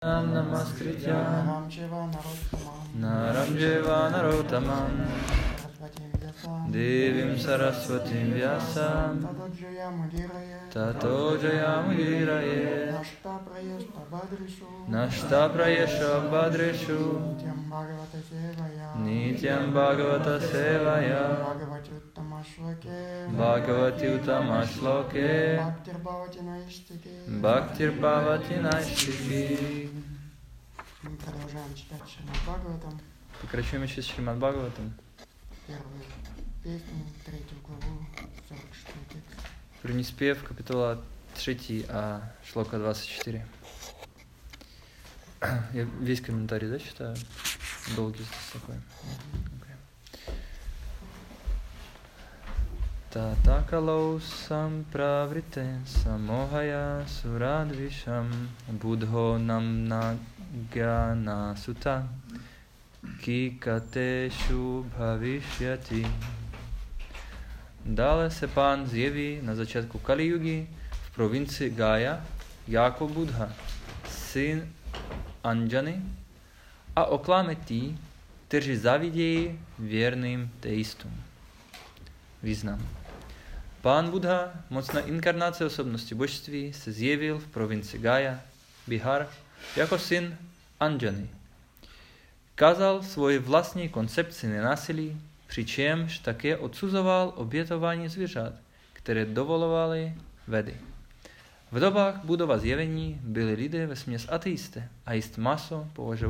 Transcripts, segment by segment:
Namaskritya Naram Narottamam Devim Saraswatim Vyasam Tato Jayamudiraye Nashta Prayesha Badreshu Nityam Bhagavata Sevaya Bhagavati Uttama Shloke Bhaktir Bhavati Naistiki. Мы продолжаем читать Шримад Бхагаватам. Прекращаем сейчас Шримад Бхагаватам. Первую песню, 3 главу, 46 текст. Принеспев, капитула 3, шлока 24. Я весь комментарий, да, читаю? Долгий здесь такой. Tatakalo sampravrite samohaya suradvisham buddho namna gyana sutta kikateshu bhavishyati. Dále se pán zjeví na začátku Kali-jugy v provincii Gaya jako Buddha, syn Anjany, a oklame tí, kteří zavidějí věrným teistům. Význam. Pán Buddha, mocná inkarnace osobnosti božství, se zjevil v provincii Gaya, Bihar, jako syn Anjany. Kázal svoji vlastní koncepci nenásilí, přičemž také odsuzoval obětování zvířat, které dovolovaly Vedy. V dobách Buddhova zjevení byli lidé vesměs ateisté a jíst maso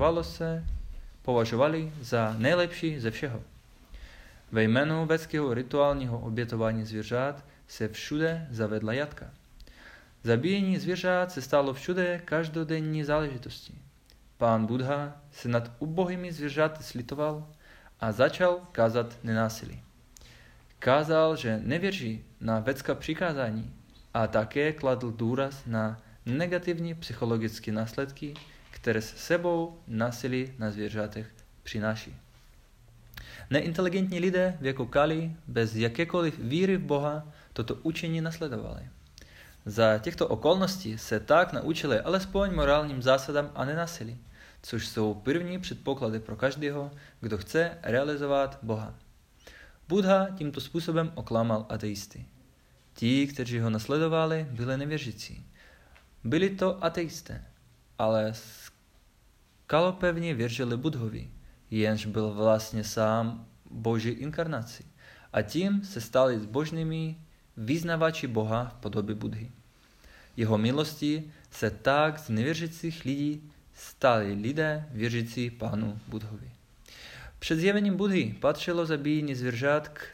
považovali za nejlepší ze všeho. Ve jménu védského rituálního obětování zvířat se všude zavedla jatka. Zabíjení zvířat se stalo všude každodenní záležitostí. Pán Buddha se nad ubohými zvířaty slitoval a začal kázat nenásilí. Kázal, že nevěří na védská přikázání a také kladl důraz na negativní psychologické následky, které s sebou násilí na zvířatech přináší. Neinteligentní lidé věku Kali bez jakékoliv víry v Boha toto učení nasledovali. Za těchto okolností se tak naučili alespoň morálním zásadám a nenásilí, což jsou první předpoklady pro každého, kdo chce realizovat Boha. Buddha tímto způsobem oklamal ateisty. Ti, kteří ho nasledovali, byli nevěřící. Byli to ateisté, ale skalopevně věřili Buddhovi, jenž byl vlastně sám Boží inkarnací, a tím se stali zbožnými vyznavači Boha v podobě Buddhy. Jeho milostí se tak z nevěřících lidí stali lidé věřící Pánu Buddhovi. Před zjevením Buddhy patřilo zabíjení zvířat k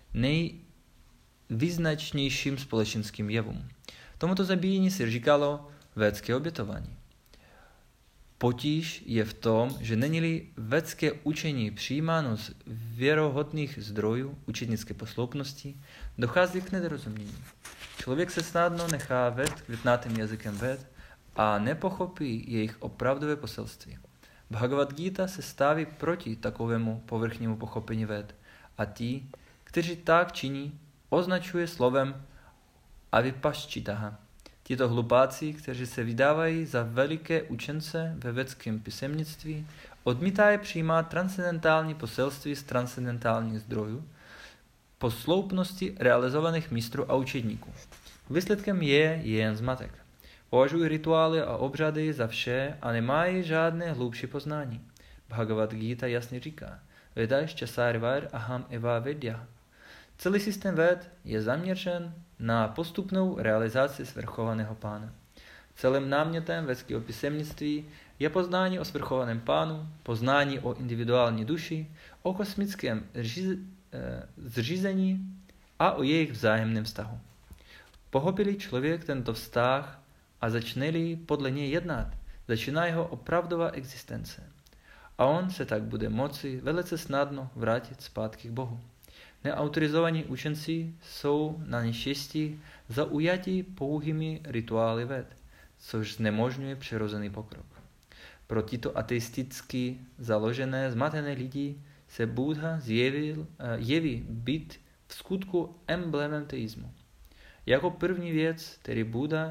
nejvýznačnějším společenským jevům. Tomuto zabíjení se říkalo védské obětování. Potíž je v tom, že není-li védské učení přijímáno z věrohodných zdrojů učednické posloupnosti, dochází k nedorozumění. Člověk se snadno nechá vést květnatým jazykem véd a nepochopí jejich opravdové poselství. Bhagavad Gita se staví proti takovému povrchnímu pochopení véd a ti, kteří tak činí, označuje slovem avipaščitaha. Tito hlupáci, kteří se vydávají za veliké učence ve védském písemnictví, odmítají přijímat transcendentální poselství z transcendentálních zdrojů, posloupnosti realizovaných mistrů a učedníků. Výsledkem je jen zmatek. Považují rituály a obřady za vše a nemají žádné hlubší poznání. Bhagavad Gita jasně říká: Vedašča sarvar aham eva vedya. Celý systém véd je zaměřen na postupnou realizaci svrchovaného pána. Celým námětem védského písemnictví je poznání o svrchovaném pánu, poznání o individuální duši, o kosmickém zřízení a o jejich vzájemném vztahu. Pochopí-li člověk tento vztah a začne-li podle něj jednat, začíná jeho opravdová existence. A on se tak bude moci velice snadno vrátit zpátky k Bohu. Neautorizovaní učenci jsou na neštěstí zaujati pouhými rituály véd, což znemožňuje přirozený pokrok. Pro tyto ateisticky založené zmatené lidi se Buddha jeví být v skutku emblémem teismu. Jako první věc, který Buddha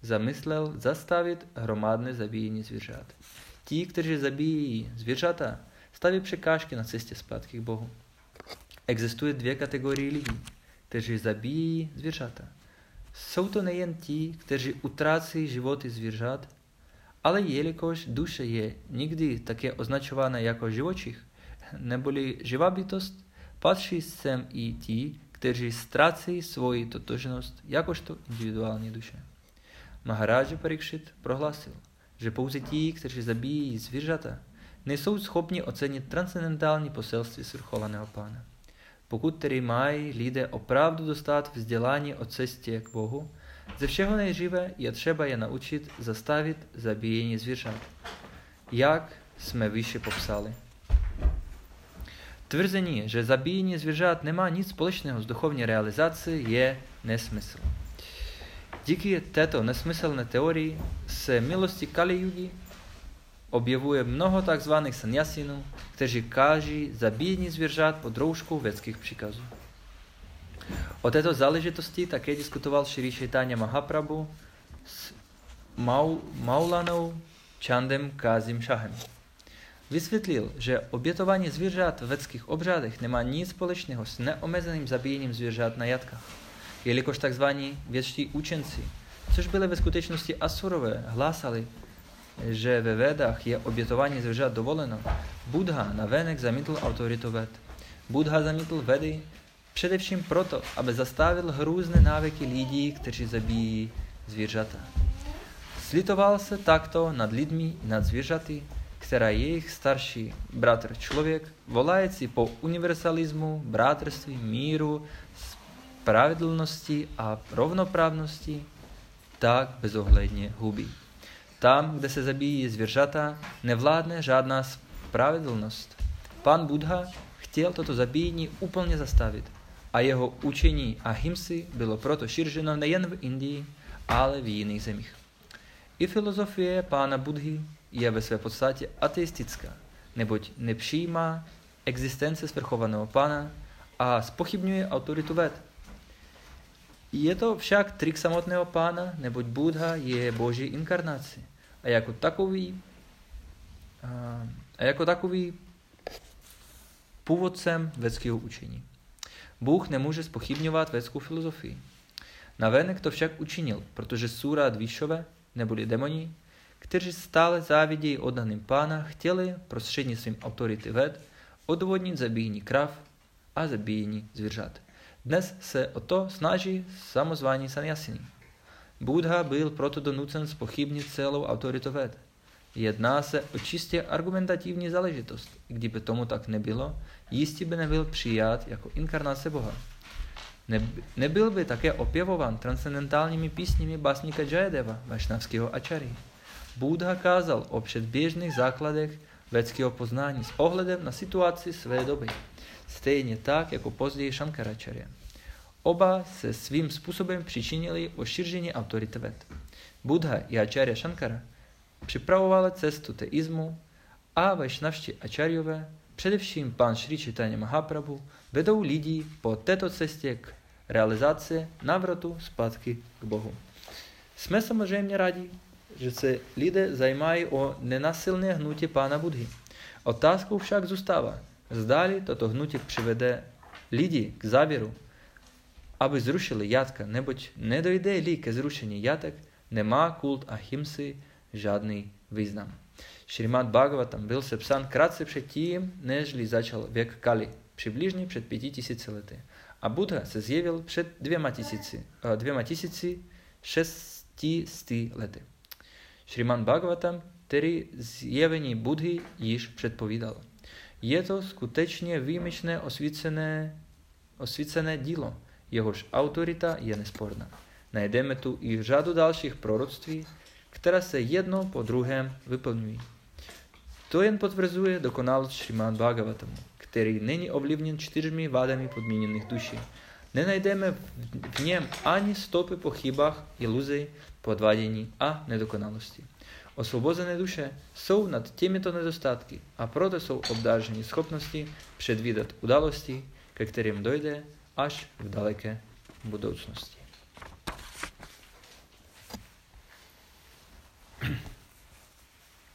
zamyslel zastavit hromadné zabíjení zvířat. Ti, kteří zabíjí zvířata, staví překážky na cestě zpátky k Bohu. Existuje dvě kategorie lidí, kteří zabíjí zvířata. Jsou to nejen ti, kteří utrácí životy zvířat, ale jelikož duše je někdy také označována jako živočich, neboli živá bytost, patří sem i ti, kteří ztrácejí svoji totožnost jakožto individuální duše. Maharaja Parikšit prohlásil, že pouze ti, kteří zabíjí zvířata, nejsou schopni ocenit transcendentální poselství svrchovaného Pána. Pokud tedy mají lidé opravdu dostat vzdělání o cestě k Bohu, ze všeho nejdříve je třeba je naučit zastavit zabíjení zvířat, jak jsme výše popsali. Tvrzení, že zabíjení zvířat nemá nic společného s duchovní realizací, je nesmysl. Díky této nesmyslné teorii se milosti Kali Yugi objevuje mnoho tzv. Sanyasinů, kteří káží zabíjení zvířat pod rouškou vědeckých příkazů. O této záležitosti také diskutoval Šri Chaitanya Mahaprabhu s Maulanou Chandem Kazim Shahem. Vysvětlil, že obětování zvířat v vědeckých obřádech nemá nic společného s neomezeným zabíjením zvířat na jatkách, jelikož tzv. Vědští učenci, což byli ve skutečnosti asurové, hlásali, že ve Védách je obětování zvířat dovoleno. Buddha navenek zamítl autoritu Véd. Buddha zamítl Védy především proto, aby zastavil hrůzné návyky lidí, kteří zabíjí zvířata. Slitoval se takto nad lidmi i nad zvířaty, která je jejich starší bratr člověk, volající po universalismu, bratrství, míru, spravedlnosti a rovnoprávnosti, tak bezohledně hubí. Tam, kde se zabíjí zvířata, nevládne žádná spravedlnost. Pán Buddha chtěl toto zabíjení úplně zastavit a jeho učení ahimsy bylo proto šířeno nejen v Indii, ale v jiných zemích. I filozofie pána Buddhy je ve své podstatě ateistická, neboť nepřijímá existence svrchovaného pána a zpochybňuje autoritu Véd. Je to však trik samotného pána, neboť Buddha je boží inkarnací a jako takový původcem védského učení. Bůh nemůže zpochybňovat védskou filozofii. Navenek to však učinil, protože Sura Dvíšové, neboli demoni, kteří stále závidějí oddaným pána, chtěli prostřednictvím autority Véd odvodnit zabíjení krav a zabíjení zvířat. Dnes se o to snaží samozvaní sannyasini. Buddha byl proto donucen zpochybnit celou autoritu Véd. Jedná se o čistě argumentativní záležitost. Kdyby tomu tak nebylo, jistě by nebyl přijat jako inkarnace Boha. Nebyl by také opěvován transcendentálními písněmi básníka Jayadeva, vašnavského ačary. Buddha kázal o předběžných základech védského poznání s ohledem na situaci své doby, stejně tak jako později Šankaracharya. Oba se svým způsobem přičinili o šíření autority Véd. Buddha i Acharya Shankara připravovali cestu teismu a vajšnavští acharyové, především pán Šri Chaitanya Mahaprabhu, vedou lidi po této cestě k realizaci návratu zpátky k Bohu. Jsme samozřejmě rádi, že se lidé zajímají o nenasilné hnutí pána Buddhy. Otázkou však zůstává, zdali toto hnutí přivede lidi k závěru, aby zrušili jatka, neboť nedojde-li ke zrušení jatek, nemá kult ahimsy žádný význam. Šrimad Bhagavatam byl sepsán krátce předtím, nežli začal věk Kali, přibližně před 5000 lety. A Buddha se zjevil před 2600 lety. Šrimad Bhagavatam tedy zjevení Buddhy již předpovídal. Je to skutečně výjimečné osvícené dílo, jehož autorita je nesporná. Najdeme tu i řadu dalších proroctví, která se jedno po druhém vyplňují. To jen potvrzuje dokonalost Šrimad Bhagavatamu, který není ovlivněn 4 vádami podmíněných duší. Nenajdeme v něm ani stopy po chybách, iluzi, podvádění a nedokonalosti. Osvobozené duše jsou nad těmito nedostatky a proto jsou obdarženi schopnosti předvídat události, ke kterým dojde až v daleké budoucnosti.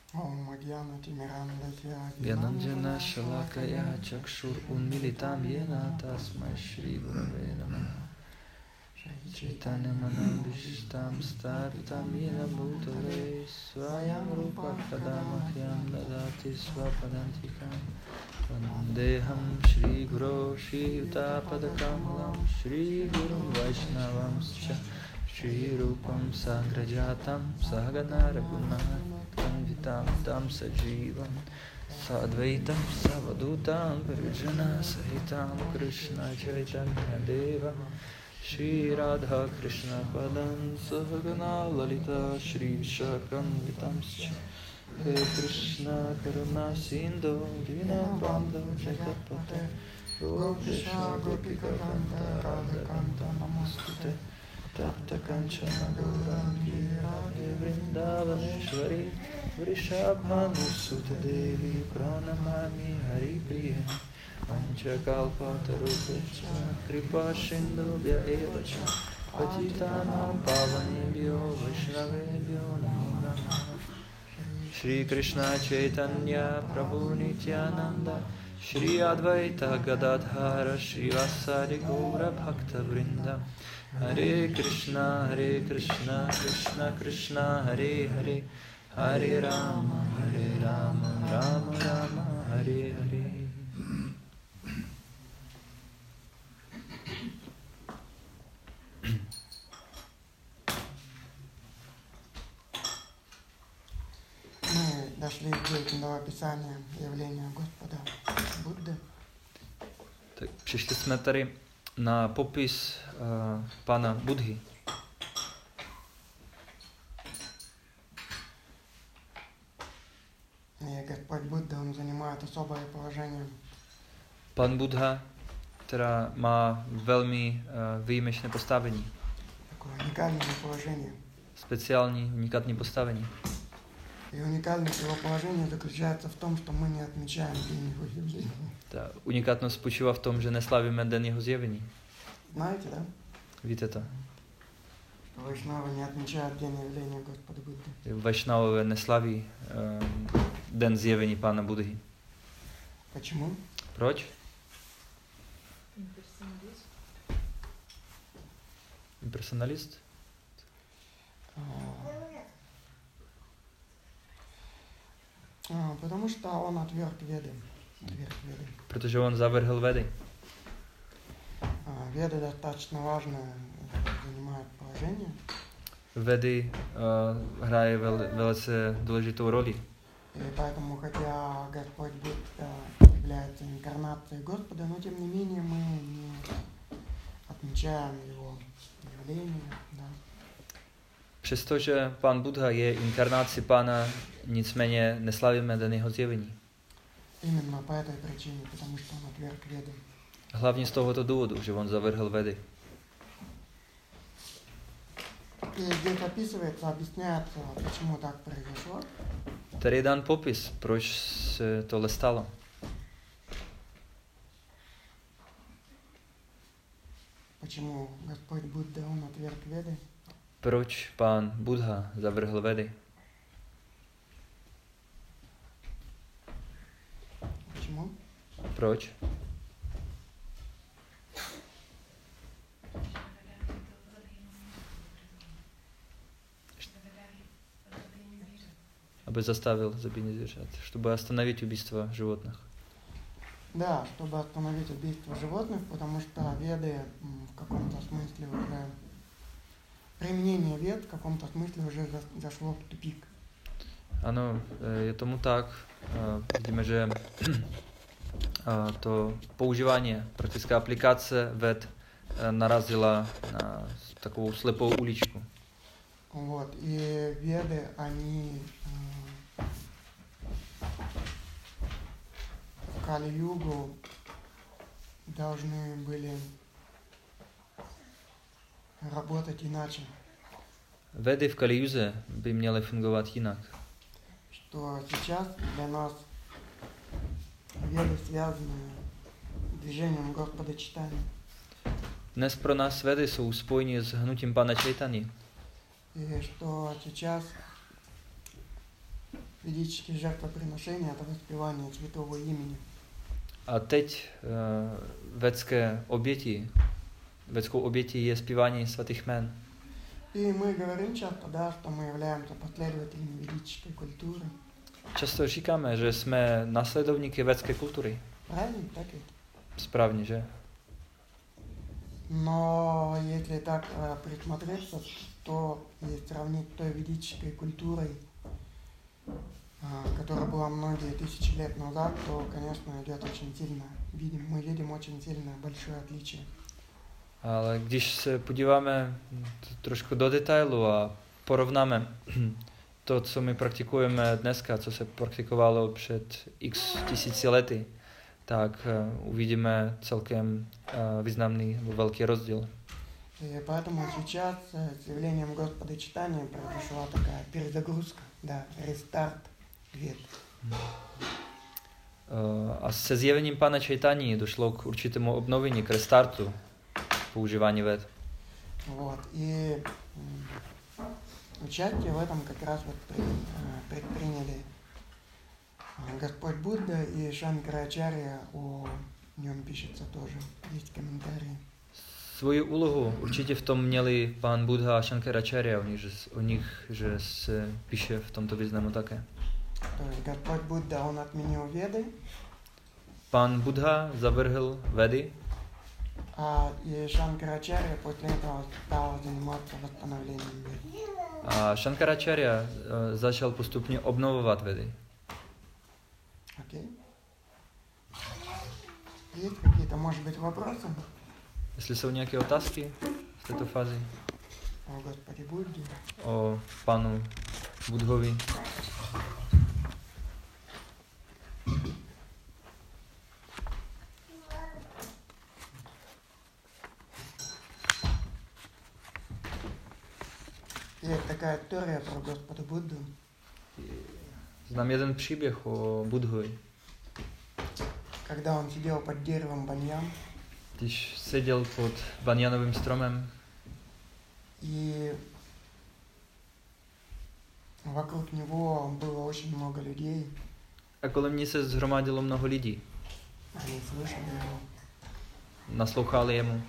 Om Agyana Timirandasya Gyananjana Shalakaya Chakshur Unmilitam Yena Tasmai Shri Gurave Namaha Chaitanya Manabhishtam Sthapitam Yena Bhutale Swayam Rupa Kadamahyam Dadati Swapadantikam Vandeham Shri Guru Shri Utapadakamalam Shri Guru Vaishnavam Shri Rupam Sagrajatam Sahagana Raghunatam Vitam Tam Sajivam Sadvaitam Savadutam Parijana Sahitam Krishna Chaitanya Deva Shri Radha Krishna Padam Sahagana Lalita Shri Shakam Vitam He Krishna Karuna Sindhu Dina Bandha Jagapate O Krishna Gopika Kanta Radha Kanta Namastute Tapta Kanchana Gaurangi Radhe Vrindavaneshwari Vrishabhanusute Devi Pranamami Hari Priya Panchakalpatarupescha Kripa Sindhubhya Evacha Patitanam Pavanebhyo Vaishnavebhyo Namo Namaha Shri Krishna Chaitanya Prabhu Nityananda Shri Advaita Gadadhara Shri Vasari Gaura Bhakta Vrinda Hare Krishna Krishna Krishna Hare Hare Hare Rama Rama Rama Hare Hare. Мы дошли до описания явления Господа Будды. Tak přišli jsme tady na popis pana Budhy. И Господь Будда, он занимает особое положение. Pan Buddha, která má velmi výjimečné postavení. Такое уникальное положение. Speciální, unikátní postavení. И уникальность его положения заключается в том, что мы не отмечаем день его явления. Ta unikátnost spočívá v tom, že neslavíme den jeho zjevení. Знаете, да? Víte to? Вайшнавы не отмечают день явления Господа Будды. Vaishnavové neslaví den zjevení pána Budhy. Почему? Proč? Impersonalist? Потому что он отверг Веды. Protože on zavrhl Vedy. Веды достаточно важное занимает положение. Vedy hraje velice důležitou roli. И поэтому, хотя Господь Будда является инкарнацией Господа, но тем не менее мы не отмечаем его явление. Да. Přestože pán Buddha je inkarnací pána, nicméně neslavíme den jeho zjevení. Именно по этой причине, потому что он отверг Веды. Hlavně z tohoto důvodu, že on zavrhl Vedy. И здесь описывается, объясняется, почему так произошло. Tady je dán popis, proč se tohle stalo. Почему Господь Будда, он отверг Веды. Proč pán Buddha zavrhl Vedy? Почему? Proč? Aby zastavil zabíjení zvířat, чтобы остановить убийство животных. Да, чтобы остановить убийство животных, потому что Веды в каком-то смысле уже... Применение Вед в каком-то смысле уже зашло в тупик. Ano, je tomu tak. Vidíme, že to používání, praktická aplikace Ved narazila na takovou slepou uličku. Вот, и Веды, они в Кали-югу должны были работать иначе. Vedy v Kali-juze by měly fungovat jinak. Что сейчас для нас Веды связаны с движением Господа Чайтаньи. Dnes pro nás Vedy jsou spojeni s hnutím Pana Chaitanya. И что сейчас ведические жертвоприношения, это воспевание святого имени. A teď védskou obětí je zpívání svatých jmen. И мы говорим часто, да, что мы являемся последователями ведической культуры. Často říkáme, že jsme následovníky védské kultury. Правильно? Так ведь? Správně, že? Но если так присмотреться, то и сравнить той ведической культурой, которая была многие тысячи лет назад, то, конечно, идет очень сильно. Мы видим очень сильное большое отличие. Ale když se podíváme trošku do detailu a porovnáme to, co my praktikujeme dneska, co se praktikovalo před x tisíci lety, tak uvidíme celkem významný velký rozdíl. И поэтому сейчас с явлением Господа Чайтаньи произошла такая перезагрузка, да, рестарт вед. A se zjevením Pána Čaitanji došlo k určitému obnovení, k restartu používání ved. Вот, и участие в этом как раз вот предприняли Господь Будда и Шанкарачарья, о нем пишется тоже, есть комментарии. Svoji úlohu určitě v tom měli pán Buddha a Shankaracharya, o nich že se píše v tomto významu také. То есть Господь Будда, он отменил веды. Pán Buddha zavrhl vedy. И Шанкарачарья после этого стал заниматься восстановлением вед. A Shankaracharya začal postupně obnovovat vedy. Окей. Есть какие-то, может быть, вопросы? Jestli jsou nějaké otázky v této fázi О Господе Будде. o panu Budhovi. Есть такая история про Господа Будду. Znám jeden příběh o Budhovi. Когда он сидел под деревом баньян. Když seděl pod banjanovým stromem. И вокруг него было очень много людей. A kolem ní se zhromadilo mnoho lidí. Они слышали его. Naslouchali jemu.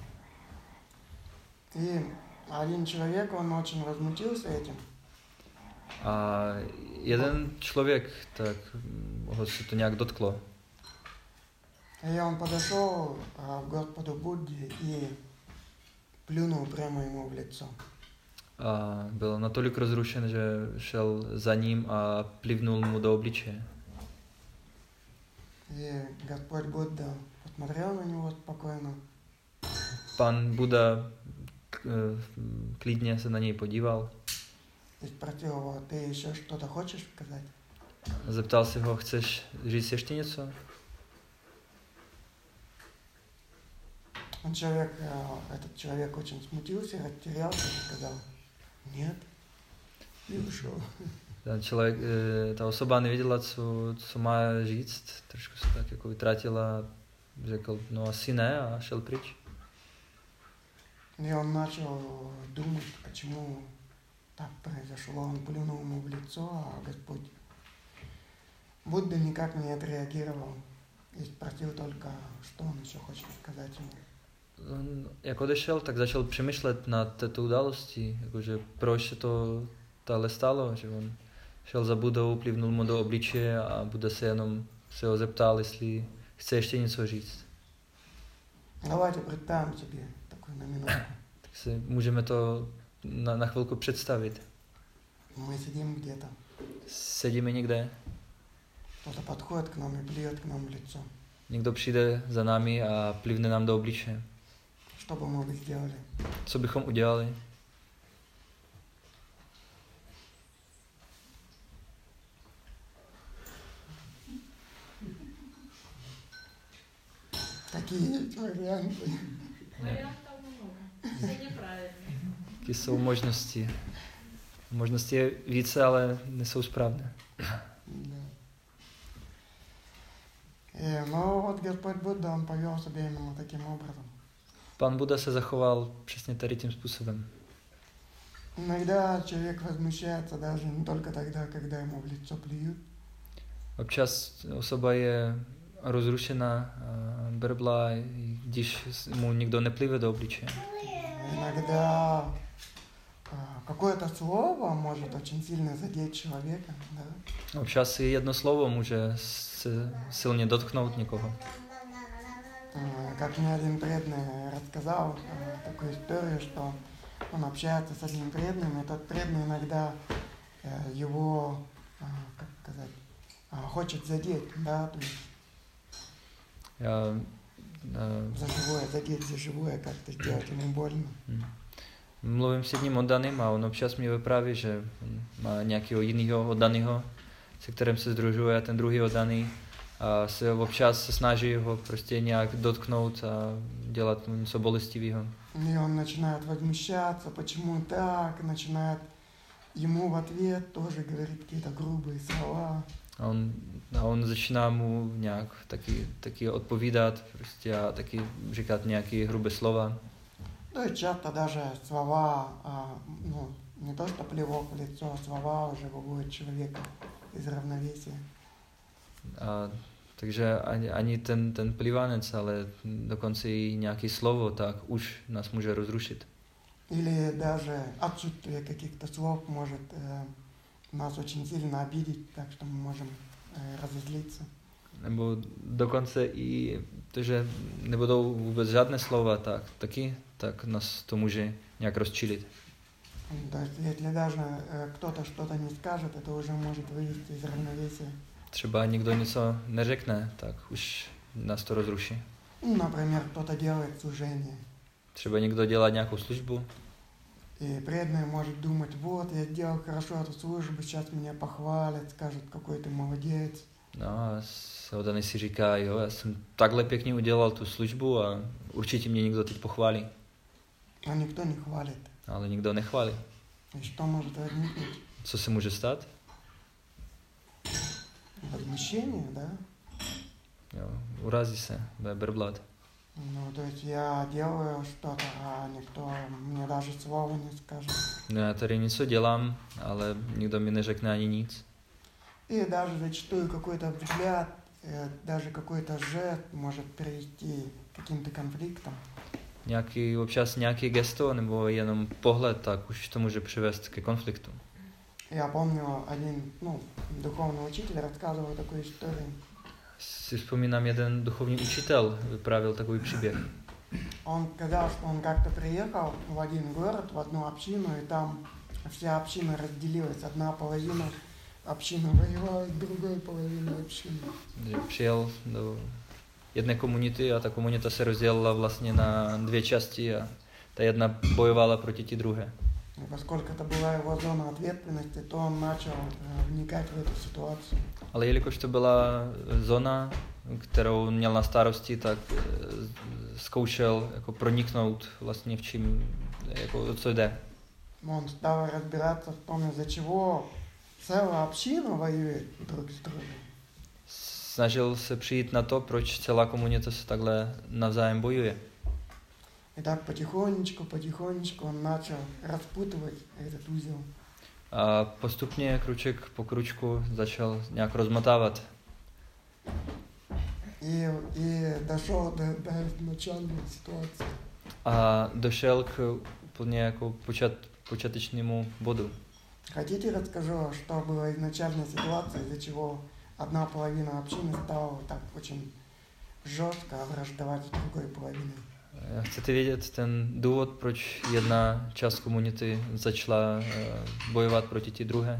И один человек, он очень возмутился этим. A jeden člověk, tak ho se to nějak dotklo. И он подошел к Господу Будде и плюнул прямо ему в лицо. A byl natolik rozrušen, že šel za ním a plivnul mu do obličeje. И Господь Будда посмотрел на него спокойно. Pan Buddha klidně se na něj podíval. И спросил его: ты еще что-то хочешь сказать? Zeptal se ho, chceš říct ještě něco? Этот человек очень смутился, растерялся и сказал: нет, и ушел. Ta osoba nevěděla, co má říct, trošku se tak jako vytratila, řekl, no asi ne, a šel pryč. И он начал думать, почему так произошло. Он плюнул ему в лицо, а Господь Будда никак не отреагировал и спросил только, что он еще хочет сказать ему. Jak odešel, tak začal přemýšlet nad této událostí, jakože proč se to táhle stalo, že on šel za Buddhou, plivnul mu do obličeje a Buddha se ho zeptal, jestli chce ještě něco říct. Давайте представим себе такой на минутку. Tak si můžeme to na chvilku představit. Мы сидим где-то. Sedíme někde. Кто-то подходит к нам и плюет к нам в лицо. Někdo přijde za námi a plivne nám do obličeje. Что бы мы сделали? Co bychom udělali? Такие варианты. Вариантов много. Все неправильно. Jaké jsou možnosti? Možnosti je více, ale nejsou správné. Да. Но вот Господь Будда, он повел себя именно таким образом. Pan Buddha se zachoval přesně tady tím způsobem. Иногда человек возмущается даже не только тогда, когда ему в лицо плюют. Občas osoba je rozrušená, brblá, i když mu nikdo neplive do obličeje. Иногда какое-то слово может очень сильно задеть человека, да? Občas i jedno slovo může se silně dotknout někoho. Как мне один преданный рассказал такую историю, что он общается с одним преданным, и тот преданный иногда его, как сказать, хочет задеть, да, то есть задеть за живое, как-то сделать ему больно. Mluvím s jedním oddaným a on občas mi vypráví, že má nějakého jiného oddaného, se kterým se združuje, a ten druhý oddaný a se občas snaží ho prostě nějak dotknout a dělat mu něco bolestivého. И он начинает возмущаться, почему так, начинает ему в ответ тоже говорить какие-то грубые слова. A on začíná mu nějak taky odpovídat prostě a taky říkat nějaké hrubé slova. То есть часто даже слова, ну, не то что плевок в лицо, а слова уже выводят человека из равновесия. Takže ani ten plivanec, ale dokonce i nějaké slovo, tak už nás může rozrušit. Или даже отсутствие каких-то слов может нас очень сильно обидеть, так что мы можем разозлиться. Nebo dokonce i to, že nebudou vůbec žádné slova, tak nás to může nějak rozčilit. То есть, если даже кто-то что-то не скажет, это уже может вывести из равновесия. Třeba někdo něco neřekne, tak už nás to rozruší. Например, кто-то делает служение. Třeba někdo dělá nějakou službu. И преданный может думать, вот, я сделал хорошо эту службу, сейчас меня похвалят, скажут, какой ты молодец. No a oddaný si říká, jo, já jsem takhle pěkně udělal tu službu a určitě mě někdo teď pochválí. А никто не хвалит. Ale nikdo nechválí. И что может возникнуть? Co se může stát? Возмущение, да? Jo, urazí se, bude brblat. Ну, то есть я делаю что-то, а никто мне даже слова не скажет. No já tady něco dělám, ale nikdo mi neřekne ani nic. И даже зачастую какой-то взгляд, даже какой-то жест может привести к каким-то конфликтам. Občas nějaký gesto nebo jenom pohled, tak už to může přivést ke konfliktu. Я помню, один, духовный учитель рассказывал такую историю. Si vzpomínám, jeden duchovní učitel vyprávěl takový příběh. Он сказал, что он как-то приехал в один город, в одну общину, и там вся община разделилась. Одна половина общины воевала с другой половиной общины. Přijel do jedné komunity a ta komunita se rozdělila vlastně na dvě části a ta jedna bojovala proti té druhé. И поскольку это была его зона ответственности, то он начал вникать в эту ситуацию. Ale jelikož to byla zóna, kterou měl na starosti, tak zkoušel jako proniknout vlastně v čím, jako o co jde. Он стал разбираться в том, из-за чего целая община воюет друг с другом. Snažil se přijít na to, proč celá komunita se takhle navzájem bojuje. И так потихонечку он начал распутывать этот узел. A postupně, kruček po kručku, začal nějak rozmotávat. И дошел до изначальной ситуации. A došel k úplně jako počátečnému bodu. Хотите, расскажу, что была изначальная ситуация, из-за чего одна половина общины стала так очень жестко враждовать с другой половиной? Chcete vědět ten důvod, proč jedna část komunity začala bojovat proti té druhé?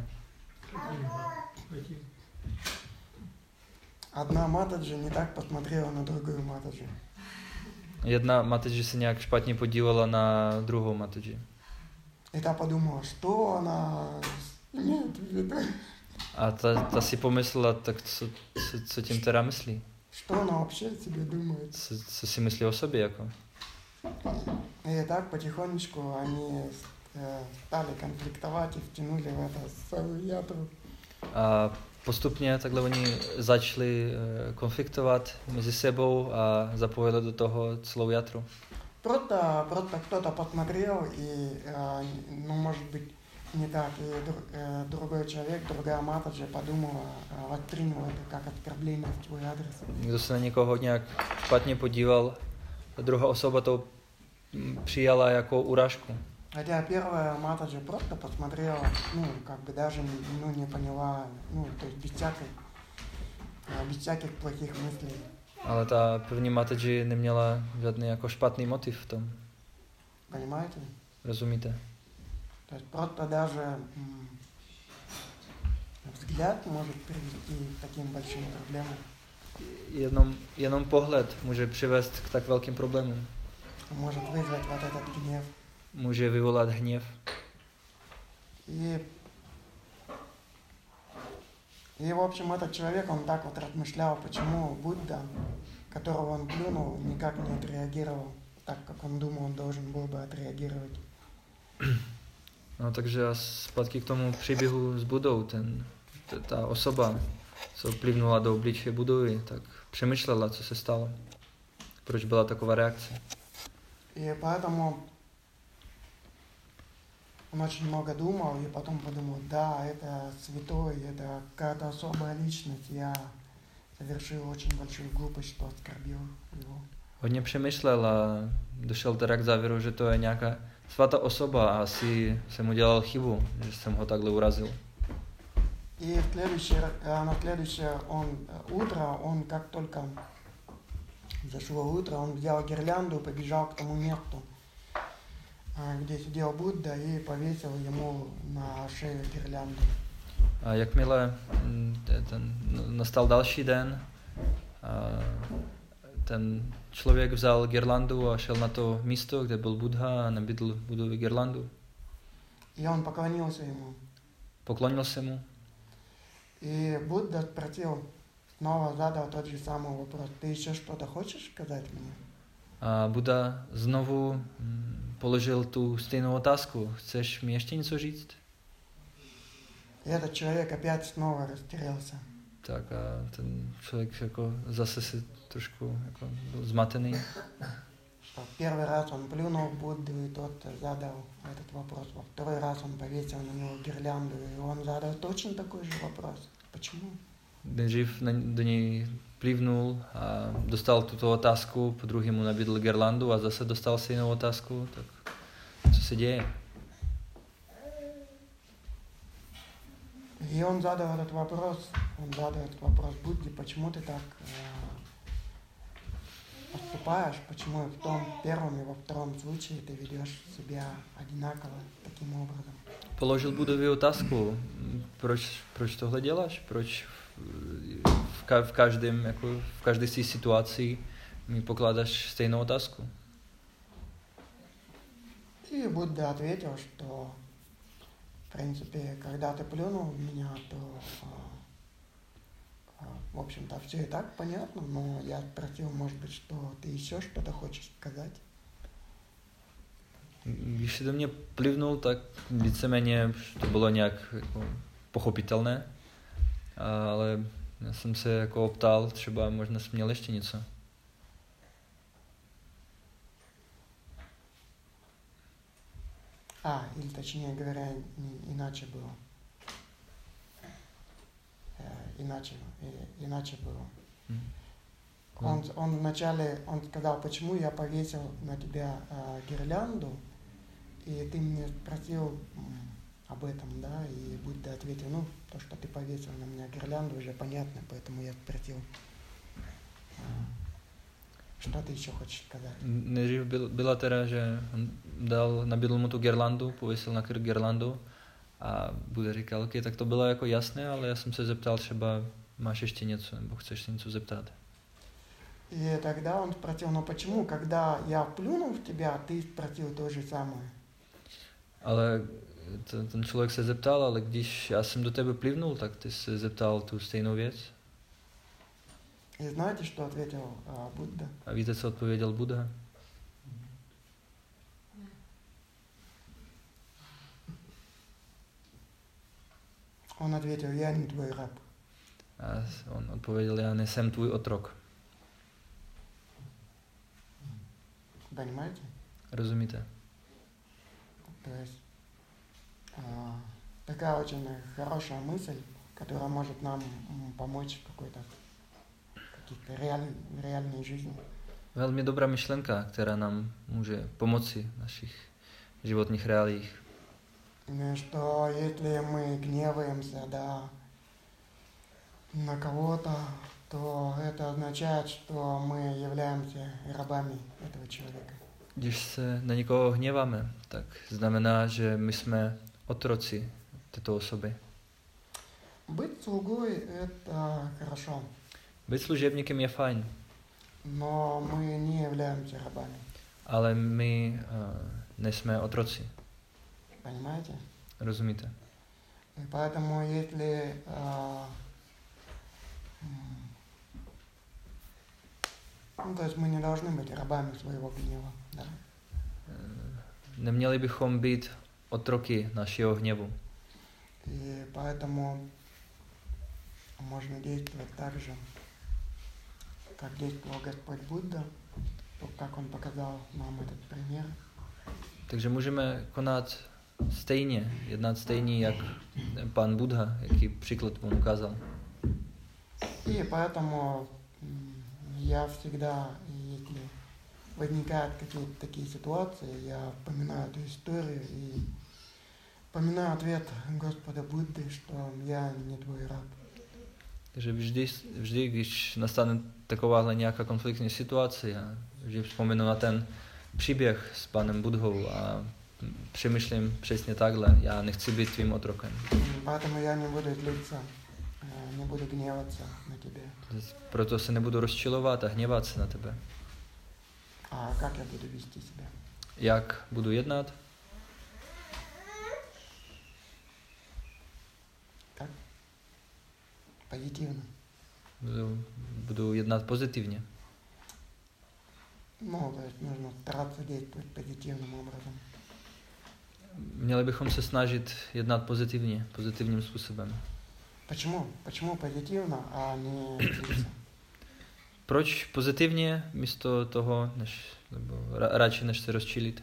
Одна матаджи не так посмотрела на другую матаджи. Jedna matadži se nějak špatně podívala na druhou matadži. И та подумала, что она имеет в виду. A ta si pomyslela, tak co tím teda myslí? Что она вообще о себе думает? Co si myslí o sobě jako? И так потихонечку они стали конфликтовать и втянули в это целую ятру. A postupně takhle oni začali konfliktovat mezi sebou a zapojili do toho celou jatru. Просто кто-то посмотрел, и, может быть, не так, и другой человек, другая Матаджи подумала, восприняла это как оскорбление в твой адрес. Kdo se na někoho nějak špatně podíval, ta druhá osoba to přijala jako urážku. Хотя первая Матаджи просто посмотрела, даже не поняла, то есть без всяких плохих мыслей. Ale ta první Mataji neměla žádný jako špatný motiv v tom. Понимаете? Rozumíte? То есть просто даже взгляд может привести к таким большим проблемам. Jenom pohled může přivést k tak velkým problémům. Может вызвать вот этот гнев. Může vyvolat hněv. И в общем, этот человек, он так вот размышлял, почему Будда, которого он плюнул, никак не отреагировал так, как он думал, он должен был бы отреагировать. No, takže a zpátky k tomu příběhu s Budou, ta osoba, co plivnula do obličeje Budovy, tak přemýšlela, co se stalo. Proč byla taková reakce. И поэтому он очень много думал, и потом подумал, да, это святой, это какая-то особая личность, я совершил очень большую глупость, что оскорбил его. Hodně přemýšlel a došel teda k závěru, že to je nějaká svatá osoba a asi jsem udělal chybu, že jsem ho takhle urazil. И на следующее утро, он как только зашло утро, он взял гирлянду, побежал к тому месту, где сидел Будда, и повесил ему на шею гирлянду. A jakmile nastal další den, ten člověk vzal girlandu a šel na to místo, kde byl Buddha a nabídl Buddovi girlandu. И он поклонился ему. Poklonil se mu. И Будда спросил, снова задал тот же самый вопрос. Ты еще что-то хочешь сказать мне? A Buddha znovu položil tu stejnou otázku. Chceš mi ještě něco říct? И этот человек опять снова растерялся. Tak a ten člověk jako zase se trošku jako byl zmatený. Первый раз он плюнул в Будду, и тот задал этот вопрос. Во второй раз он повесил на него гирлянду, и он задал точно такой же вопрос. Почему? Nejdřív do něj plivnul a dostal tuto otázku, po druhý mu nabídl girlandu a zase dostal si jinou otázku. Tak co se děje? И он задал этот вопрос Будде, почему ты так поступаешь, почему в том первом и во втором случае ты ведешь себя одинаково таким образом. Položil Buddovi otázku, proč tohle děláš, proč v každé té situaci mi pokládáš stejnou otázku. И Будда ответил, что в принципе, когда ты плюнул в меня, то в общем-то все и так понятно, но я спросил, может быть, что ты еще что-то хочешь сказать. Když se do mě plivnul, tak víceméně to bylo nějak jako pochopitelné, ale já jsem se jako optal, třeba možná jsem měl ještě něco. Или точнее говоря, иначе было. Иначе было. Он вначале сказал, почему я повесил на тебя гирлянду, и ты меня спросил об этом, да, и Будда ответил, то, что ты повесил на меня гирлянду, уже понятно, поэтому я спросил, что ты еще хочешь сказать. Nejdřív byla teda, že on nabídl mu tu girlandu, pověsil na krk girlandu a Buddha říkal, ok, tak to bylo jako jasné, ale já jsem se zeptal, třeba máš ještě něco, nebo chceš se něco zeptat. И тогда он спросил, почему, когда я плюнул в тебя, ты спросил то же самое? Ale ten člověk se zeptal, ale když já jsem do tebe plivnul, tak ty se zeptal tu stejnou věc. И знаете, что ответил Будда? A víte, co odpověděl Buddha? Он ответил, я не твой раб. A on odpověděl, já nejsem tvůj otrok. Понимаете? Rozumíte? То есть такая очень хорошая мысль, которая может нам помочь в какой-то реальной жизни. Velmi dobrá myšlenka, která nám může pomoci v našich životních reálích. Что если мы гневаемся, да, на кого-то, то это означает, что мы являемся рабами этого человека. Když se na někoho hněváme, tak znamená, že my jsme otroci této osoby. Быть слугой – это хорошо, Být služebníkem je fajn, но мы не являемся рабами. ale my nejsme otroci. Понимаете? Rozumíte? И поэтому если то есть мы не должны быть рабами своего гнева, да? Neměli bychom být otroky našeho hněvu. И поэтому можно действовать так же, как действовал Господь Будда, как он показал нам этот пример. Takže můžeme konat stejně, jednat stejně, jak pán Buddha, jaký příklad on ukázal. И поэтому я всегда, если возникают какие-то такие ситуации, я вспоминаю эту историю и вспоминаю ответ Господа Будды, что я не твой раб. Takže vždy, když nastane takováhle nějaká konfliktní situace, já vždy vzpomenu na ten příběh s panem Budhou a přemýšlím přesně takhle, já nechci být tvým otrokem. Поэтому я не буду злиться, не буду гневаться на тебя. Proto se nebudu rozčilovat a hněvat se na tebe. А как я буду вести себя? Jak budu jednat? Как? Позитивно. Budu jednat pozitivně. Ну, то есть нужно стараться действовать позитивным образом. Měli bychom se snažit jednat pozitivně, pozitivním způsobem. Почему? Почему позитивно, а не злиться? Proč pozitivně místo toho, nebo radši než se rozčilit?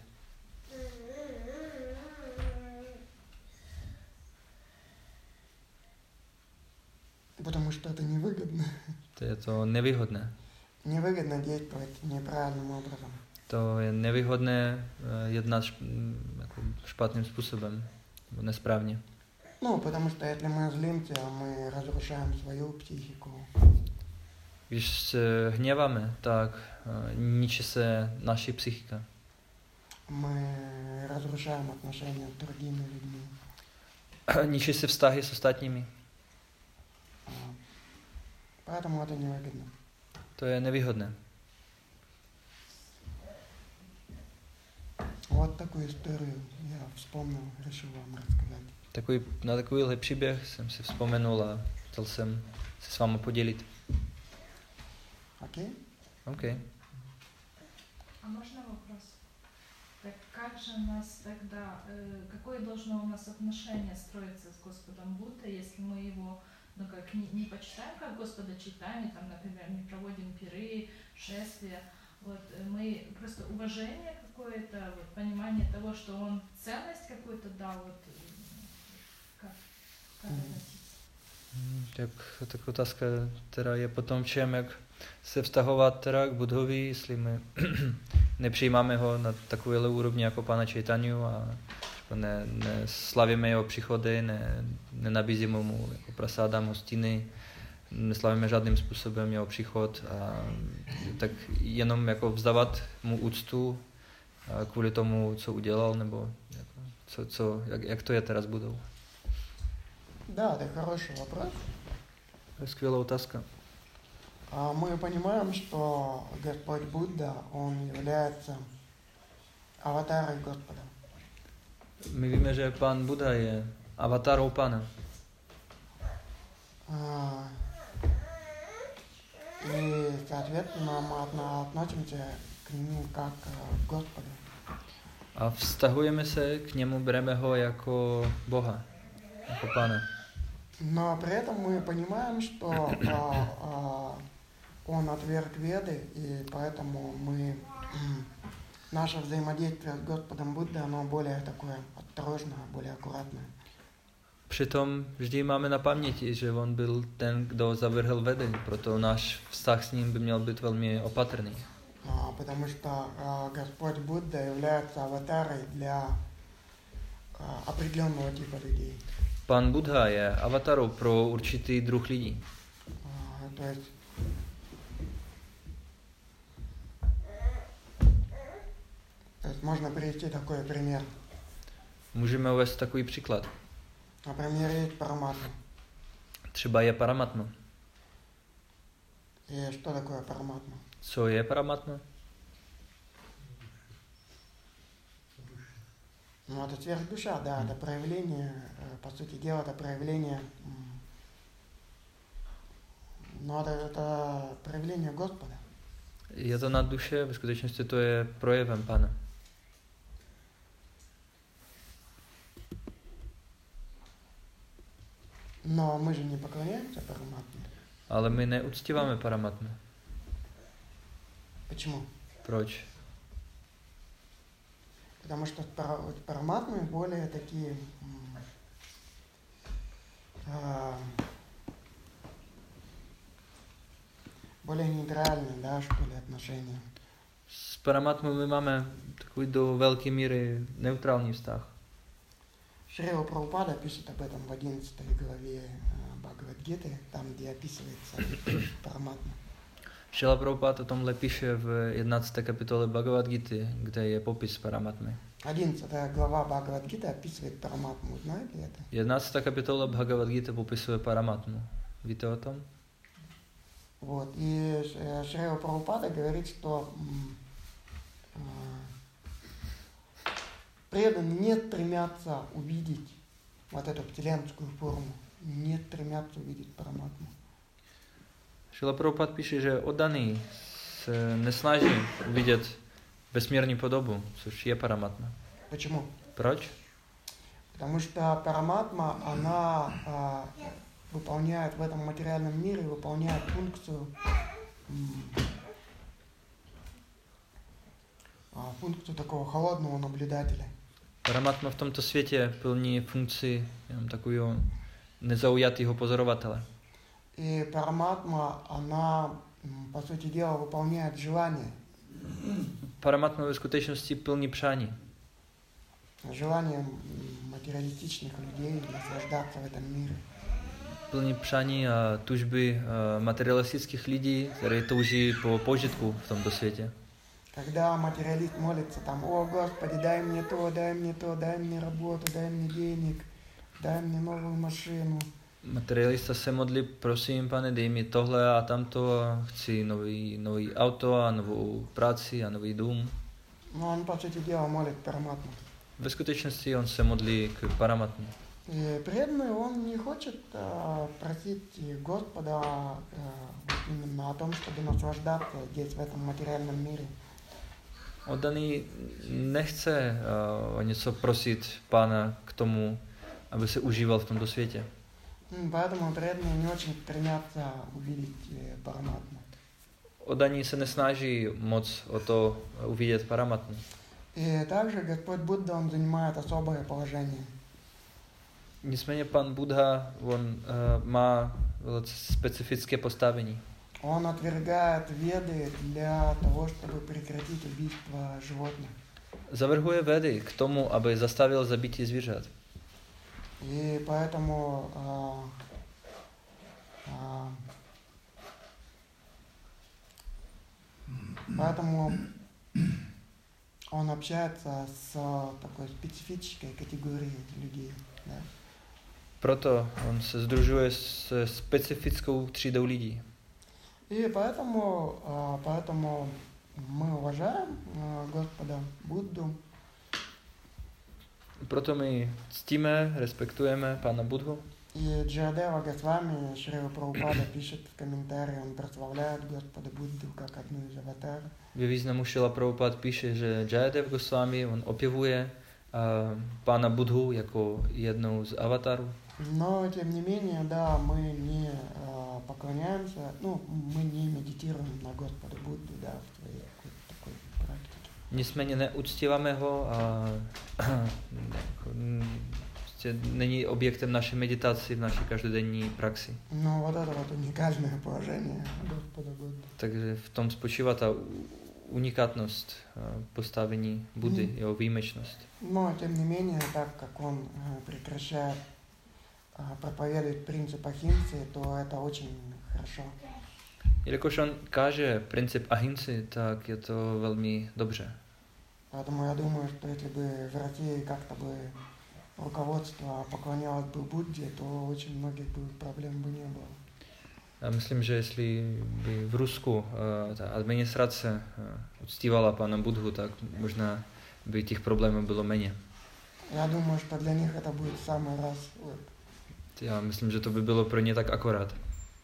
Потому что это невыгодно. To je to nevýhodné. Невыгодно действовать неправильным образом. To je nevýhodné jednat jako špatným způsobem, nebo nesprávně. Ну, потому что если мы злимся, мы разрушаем свою психику. Když se hněváme, tak ničí se naši psychika. Мы разрушаем отношения с другими людьми. Ničí se vztahy s ostatními. Поэтому это невыгодно. To je nevýhodné. Вот такую историю я вспомнил, решил вам рассказать. Na takovýhle příběh jsem si vzpomenul a chtěl jsem se s vámi podělit. Окей? OK. А можно вопрос? Так как же нас тогда, какое должно у нас отношение строиться с Господом Буддой, если мы его, ну как, не почитаем как Господа, читаем, и там, например, не проводим пиры, шествия, вот мы просто уважение какое-то, вот, понимание того, что он ценность какую-то дал, вот как относиться? Tak otázka teda je potom všem, jak se vztahovat teda k Budhovi, jestli my nepřijímáme ho na takovéhle úrovni jako Pána Čejtanju a neslavíme jeho příchody, nenabízíme mu jako prasádám hostiny, neslavíme žádným způsobem jeho příchod a tak jenom jako vzdávat mu úctu kvůli tomu, co udělal, nebo jako, jak to je teda s Budou. Да, это хороший вопрос. To je skvělá otázka. Мы понимаем, что Господь Будда, он является аватарой Господа. My víme, že Pán Buddha je avatarou Pána. И, соответственно, мы относимся к нему как к Господу. A vztahujeme se k němu, bereme ho jako Boha, jako Pána. Но при этом мы понимаем, что он отверг Веды, и поэтому мы наше взаимодействие с Господом Буддой, оно более такое осторожное, более аккуратное. Přitom vždy máme na paměti, že on byl ten, kdo zavrhl Vedy, proto náš vztah s ním by měl být velmi opatrný. Потому что Господь Будда является аватарой для определенного типа людей. Pan Buddha je avatarou pro určitý druh lidí. То есть можно привести такой пример. Můžeme uvést takový příklad. Например, есть Параматма. Třeba je Paramatma. И что такое Параматма? Co je Paramatma? Ну, это сверхдуша, да, это проявление, по сути дела, это проявление, но это проявление Господа. Je to nad duše, ve skutečnosti to je projevem Pana. Но мы же не поклоняемся Параматме. Ale my neuctíváme Paramatmu. Почему? Proč? Потому что Параматмы более такие более нейтральные, да, что ли, отношения. S Paramatmou my máme takový do velké míry neutrální vztah. Шрила Прабхупада пишет об этом в 11 главе Бхагавад-гиты, там, где описывается Параматма. Šrila Prabhupada o tomhle píše v 11. kapitole Bhagavad Gity, kde je popis Paramatmy. 11 глава Бхагавад-гиты описывает Параматму, знаете это? 11. kapitola Bhagavad Gita popisuje Paramatmu. Víte o tom? Вот, и Шрила Прабхупада говорит, что преданные не стремятся увидеть вот эту вселенскую форму, не стремятся увидеть Параматму. Šrila Prabhupada píše, že oddaný se nesnaží vidět vesmírní podobu, což je Paramatma. Почему? Proč? Потому что Параматма, она выполняет в этом материальном мире, выполняет функцию такого холодного наблюдателя. Paramatma v tomto světě plní funkci jenom takového nezaujatého pozorovatele. И Параматма, она, по сути дела, выполняет желание. Paramatma ve skutečnosti plní přání. Желание материалистичных людей наслаждаться в этом мире. Plní přání a tužby materialistických lidí, které touží po požitku v tomto světě. Когда материалист молится там: «О, Господи, дай мне то, дай мне работу, дай мне денег, дай мне новую машину». Materialista se modlí: prosím, Pane, dej mi tohle a tamto, a chci nový auto a novou práci a nový dům. Но он, по сути дела, молит Параматму. Ve skutečnosti on se modlí k Paramatmu. И преданный, он не хочет просить Господа вот именно о том, чтобы наслаждаться здесь, в этом материальном мире. Oddaný nechce o něco prosit Pána k tomu, aby se užíval v tomto světě. Поэтому преданные не очень стремятся увидеть Параматму. Oddaní se nesnaží moc o to uvidět Paramatmu. И также Господь Будда, он занимает особое положение. Nicméně pan Buddha, on má velice specifické postavení. Он отвергает Веды для того, чтобы прекратить убийство животных. Zavrhuje Vedy k tomu, aby zastavil zabití zvířat. И поэтому он общается с такой специфической категорией людей. Да? Proto on se sdružuje s specifickou třídou lidí. И поэтому мы уважаем Господа Будду. Proto my ctíme, respektujeme Pána Buddhu. И Джиадева Госвами, Шрила Прабхупада пишет в комментарии, он прославляет Господа Будду как одну из аватаров. Ve významu Šrila Prabhupada píše, že Jayadev Goswami, on opěvuje Pána Buddhu jako jednou z avatarů. Но, тем не менее, да, мы не поклоняемся, мы не медитируем на Господа Будду, да, в своей такой практике. nicméně neuctíváme ho a prostě není objektem naší meditaci v naší každodenní praxi. Но вот это вот уникальное положение Господа Будды. Takže v tom spočívá ta unikátnost postavení Buddy, jeho výjimečnost. Но, тем не менее, так как он прекращает проповедовать принцип ахимсы, то это очень хорошо. Jelikož on káže princip ahimsy, tak je to velmi dobře. Поэтому я думаю, что если бы в России как-то бы руководство поклонялось бы Будде, то очень многих бы проблем бы не было. Já myslím, že jestli by v Rusku ta administrace uctívala pana Budhu, tak možná by těch problémů bylo méně. Я думаю, что для них это будет в самый раз. Já myslím, že to by bylo pro ně tak akorát.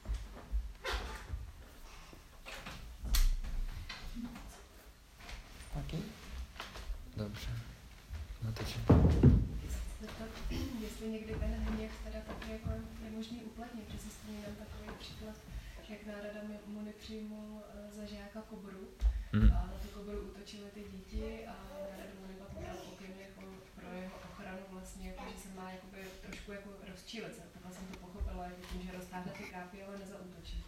Окей? Dobře. No to Jestli někdy ten hněv teda taky jako je možný uplatnit, že si vzpomínám takový příklad, jak Nárada Muni přijmul za žáka kobru a na tu kobru útočily ty děti a Nárada Muni pak mu dal pokyn jako pro jeho ochranu vlastně, jako, že se má jakoby, trošku jako rozčílit. Takhle jsem to pochopila, jako tím, že roztáhne ty kápy, ale nezaútočí.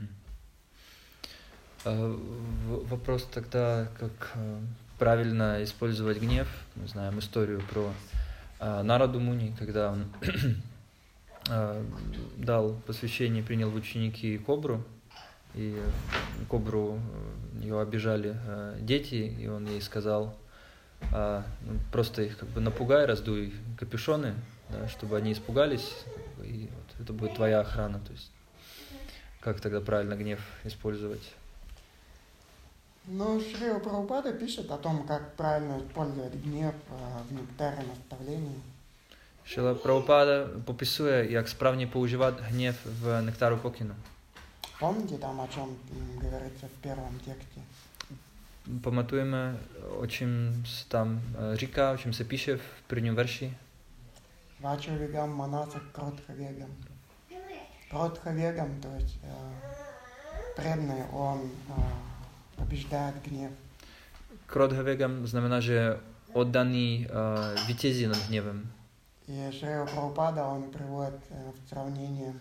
Вопрос тогда, как правильно использовать гнев. Мы знаем историю про Нараду Муни, когда он дал посвящение, принял в ученики кобру, и кобру ее обижали дети, и он ей сказал, просто их как бы напугай, раздуй капюшоны, да, чтобы они испугались, и вот это будет твоя охрана. То есть, как тогда правильно гнев использовать? Ну, Шрила Прабхупада пишет о том, как правильно использовать гнев в нектаре наставлений. Шрила Прабхупада popisuje, jak správně používat hněv v nektaru pokynu. Помните там, о чем говорится в первом тексте? Pamatujeme, o čem se tam říká, o čem se píše v prvním verši? Вача вегам манаса кротха вегам. Кротха вегам, то есть преданный, он побеждает гнев. Krodha vegam znamená, že oddaný vítězí nad hněvem. И Шрила Прабхупада, он приводит в сравнение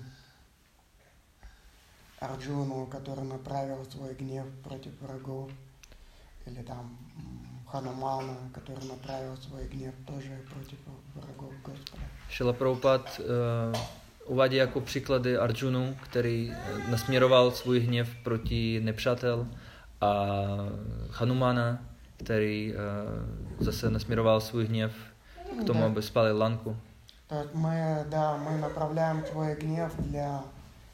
Арджуну, который направил свой гнев против врагов, или там Ханумана, который направил свой гнев тоже против врагов Господа. Šrila Prabhupada uvádí jako příklady Arjunu, který nasměroval svůj hněv proti nepřátel, a Hanumana, který zase nasměroval svůj hněv k tomu, aby spalil lanku. То есть мы направляем свой гнев для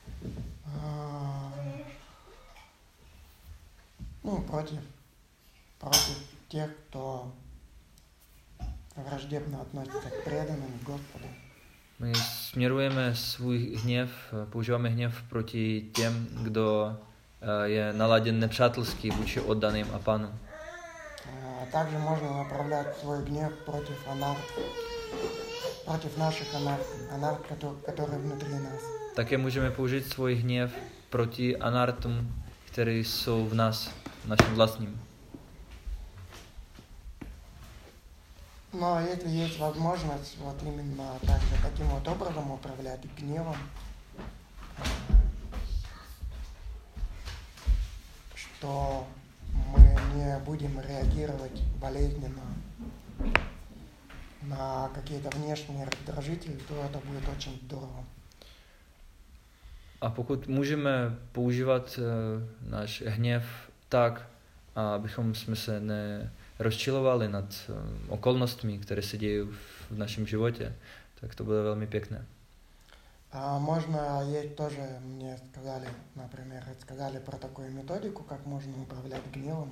против тех, кто враждебно относится к преданным Господу. My směrujeme svůj hněv, používáme hněv proti těm, kdo je naladěn nepřátelsky vůči oddaným a Panu. Также можно направлять свой гнев против анарт, против наших анарт, которые внутри нас. Také můžeme použít svůj hněv proti anartům, které jsou v nás, naším vlastním. Но если есть возможность вот именно также таким вот образом управлять гневом, что мы не будем реагировать болезненно на какие-то внешние раздражители, то это будет очень здорово. A pokud můžeme používat náš hněv tak, abychom jsme se nerozčilovali nad okolnostmi, které se dějí v našem životě, tak to bude velmi pěkné. Можно есть тоже, мне сказали, например, рассказали про такую методику, как можно управлять гневом.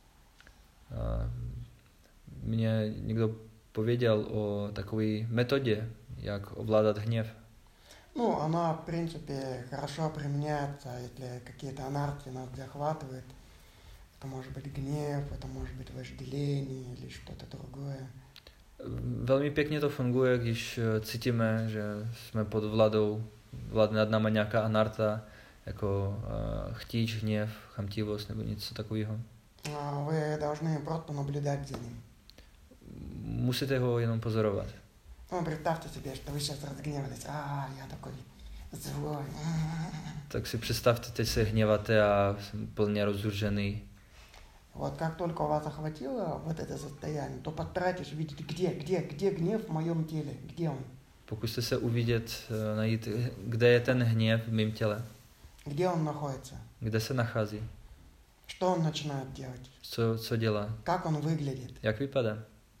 Mě někdo pověděl o takové metodě, jak ovládat hněv. Ну, она, в принципе, хорошо применяется, если какие-то анархии нас захватывают. Это может быть гнев, это может быть вожделение или что-то другое. Velmi pěkně to funguje, když cítíme, že jsme pod vládne nad náma nějaká anarta, jako chtíč, hněv, chamtivost nebo něco takového. Вы должны просто наблюдать за ним. Musíte ho jenom pozorovat. Ну, представьте себе, что вы сейчас разгневались. Я такой zlой. Tak si představte, teď se hněváte a jsem plně rozrušený. Вот как только у вас охватило вот это состояние, то постарайтесь увидеть, где гнев в моем теле, где он? Pokuste se uvidět, najít, kde je ten hněv v mém těle. Где он находится? Kde se nachází? Что он начинает делать? Co dělá? Как он выглядит? Jak vypadá?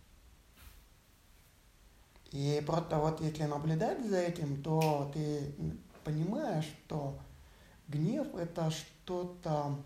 И просто вот если наблюдать за этим, то ты понимаешь, что гнев это что-то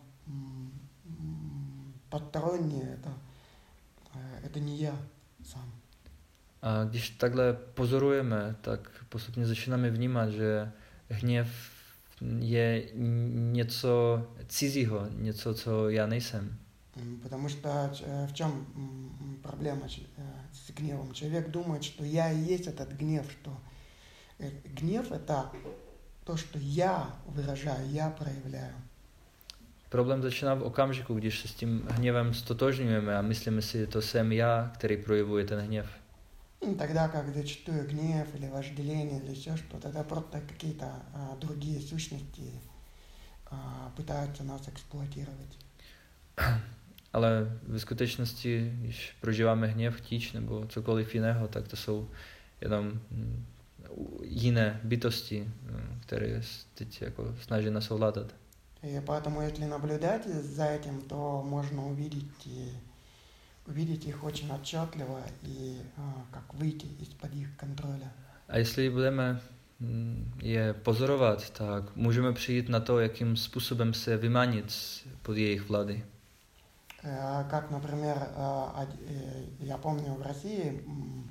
постороннее, это не я сам. A když takhle pozorujeme, tak postupně začínáme vnímat, že hněv je něco cizího, něco, co já nejsem. Потому что в чем проблема с гневом? Человек думает, что я и есть этот гнев, что гнев это то, что я выражаю, я проявляю. Problém začíná v okamžiku, když se s tím hněvem stotožňujeme a myslíme si, že to jsem já, který projevuje ten hněv. Тогда как зачастую гнев или вожделение или еще что-то, это просто какие-то другие сущности пытаются нас эксплуатировать. Ale ve skutečnosti, když prožíváme hněv, chtíč nebo cokoliv jiného, tak to jsou jenom jiné bytosti, které teď jako snaží nás ovládat. И поэтому, если наблюдать за этим, то можно увидеть их очень отчетливо и как выйти из-под их контроля. A jestli budeme je pozorovat, tak můžeme přijít na to, jakým způsobem se vymanit pod jejich vlády. Как, например, я помню в России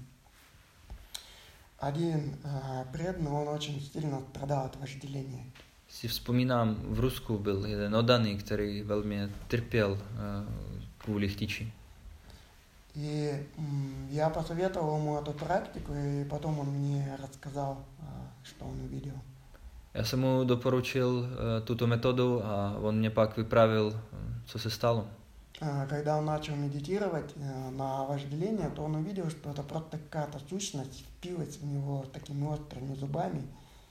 один преданный, он очень сильно страдал от вожделения. Si vzpomínám, v Rusku byl jeden oddaný, který velmi trpěl kvůli chtíči. И я посоветовал ему эту практику, и потом он мне рассказал, что он увидел. Já jsem mu doporučil tuto metodu a on mě pak vyprávěl, co se stalo. Когда он начал медитировать на вожделение, то он увидел, что это просто какая-то сущность впилась в него такими острыми зубами.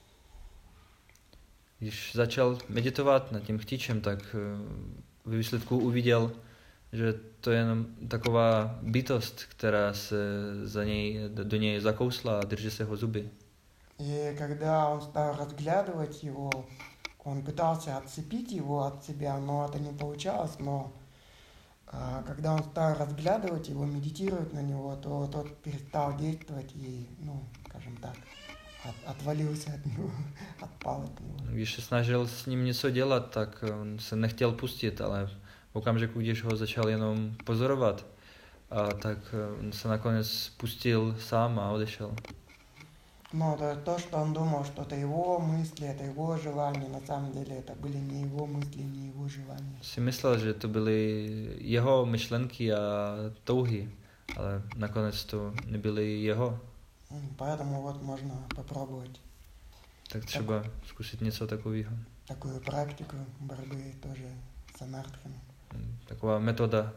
Když začal meditovat nad tím chtíčem, tak ve výsledku uviděl, že to je jenom taková bytost, která se do něj zakousla a drží se ho zuby. И когда он стал разглядывать его, он пытался отцепить его от себя, но это не получалось, но когда он стал разглядывать его, медитировать на него, то тот перестал действовать и, скажем так, отвалился от него, отпал от него. Když se snažil s ním něco dělat, tak on se nechtěl pustit, ale v okamžiku, když ho začal jenom pozorovat, tak on se nakonec pustil sám a odešel. Но то, что он думал, что это его мысли, это его желания, на самом деле это были не его мысли, не его желания. Si myslel, že to byly jeho myšlenky a touhy, ale nakonec to nebyly jeho. Поэтому вот можно попробовать. Tak třeba zkusit něco takového. Такую практику борьбы тоже с анархами. Taková metoda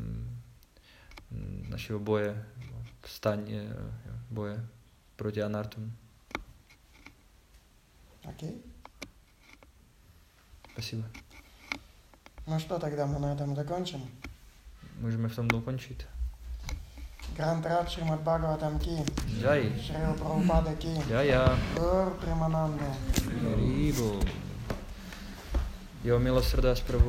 našeho boje, boje proti anartům. Окей? Спасибо. Ну что, тогда мы на этом закончим. Můžeme v tom dokončit. Грантарат Шримад Бхагаватам ки. Jai. Шрила Прабхупада ки. Jaya. Гур Примананда. Haribo. Jeho milosrdá zpravu.